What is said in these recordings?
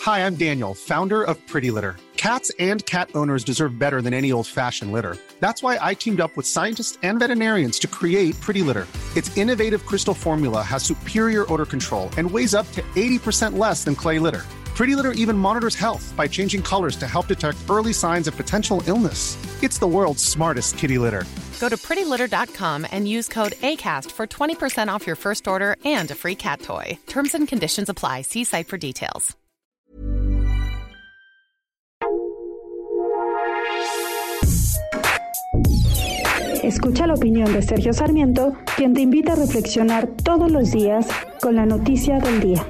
Hi, I'm Daniel, founder of Pretty Litter. Cats and cat owners deserve better than any old-fashioned litter. That's why I teamed up with scientists and veterinarians to create Pretty Litter. Its innovative crystal formula has superior odor control and weighs up to 80% less than clay litter. Pretty Litter even monitors health by changing colors to help detect early signs of potential illness. It's the world's smartest kitty litter. Go to prettylitter.com and use code ACAST for 20% off your first order and a free cat toy. Terms and conditions apply. See site for details. Escucha la opinión de Sergio Sarmiento, quien te invita a reflexionar todos los días con la noticia del día.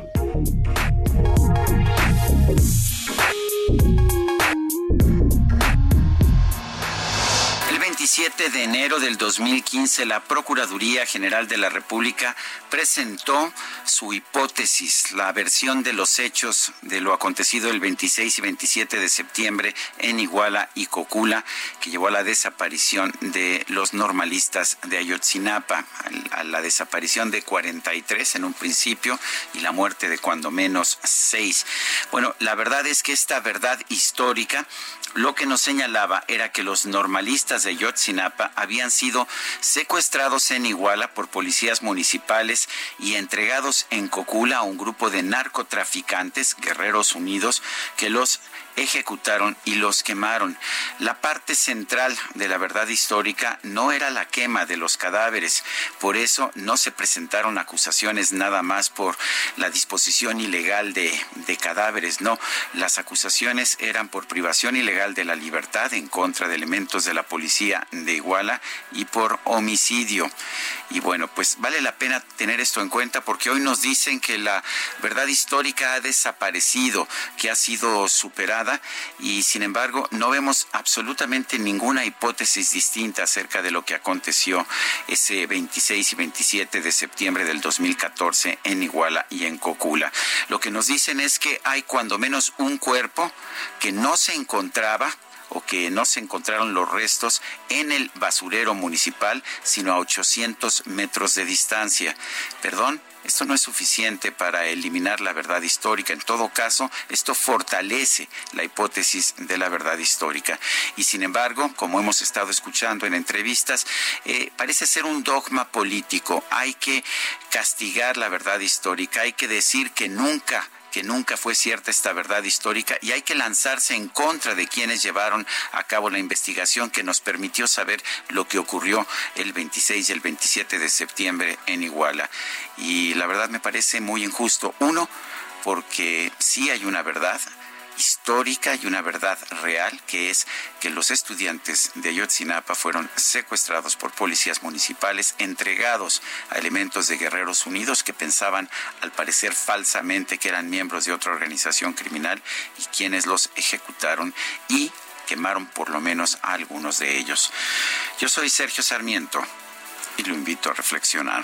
El 7 de enero del 2015, la Procuraduría General de la República presentó su hipótesis, la versión de los hechos de lo acontecido el 26 y 27 de septiembre en Iguala y Cocula, que llevó a la desaparición de los normalistas de Ayotzinapa, a la desaparición de 43 en un principio y la muerte de cuando menos 6. Bueno, la verdad es que esta verdad histórica lo que nos señalaba era que los normalistas de Ayotzinapa habían sido secuestrados en Iguala por policías municipales y entregados en Cocula a un grupo de narcotraficantes, Guerreros Unidos, que los ejecutaron y los quemaron. La parte central de la verdad histórica no era la quema de los cadáveres, por eso no se presentaron acusaciones nada más por la disposición ilegal de cadáveres, no, las acusaciones eran por privación ilegal de la libertad en contra de elementos de la policía de Iguala y por homicidio. Y bueno, pues vale la pena tener esto en cuenta porque hoy nos dicen que la verdad histórica ha desaparecido, que ha sido superada, y sin embargo no vemos absolutamente ninguna hipótesis distinta acerca de lo que aconteció ese 26 y 27 de septiembre del 2014 en Iguala y en Cocula. Lo que nos dicen es que hay cuando menos un cuerpo que no se encontraba o que no se encontraron los restos en el basurero municipal, sino a 800 metros de distancia. Perdón, esto no es suficiente para eliminar la verdad histórica. En todo caso, esto fortalece la hipótesis de la verdad histórica. Y sin embargo, como hemos estado escuchando en entrevistas, parece ser un dogma político. Hay que castigar la verdad histórica, hay que decir que nunca fue cierta esta verdad histórica y hay que lanzarse en contra de quienes llevaron a cabo la investigación que nos permitió saber lo que ocurrió el 26 y el 27 de septiembre en Iguala. Y la verdad me parece muy injusto. Uno, porque sí hay una verdad histórica y una verdad real, que es que los estudiantes de Ayotzinapa fueron secuestrados por policías municipales, entregados a elementos de Guerreros Unidos que pensaban, al parecer falsamente, que eran miembros de otra organización criminal y quienes los ejecutaron y quemaron por lo menos a algunos de ellos. Yo soy Sergio Sarmiento y lo invito a reflexionar.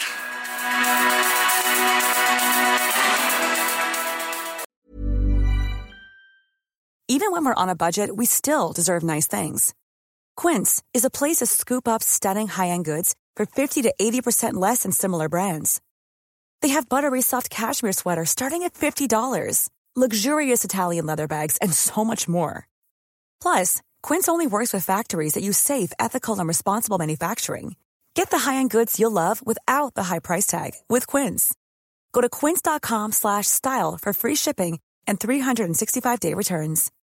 Even when we're on a budget, we still deserve nice things. Quince is a place to scoop up stunning high-end goods for 50 to 80% less than similar brands. They have buttery soft cashmere sweaters starting at $50, luxurious Italian leather bags, and so much more. Plus, Quince only works with factories that use safe, ethical, and responsible manufacturing. Get the high-end goods you'll love without the high price tag with Quince. Go to quince.com/style for free shipping and 365-day returns.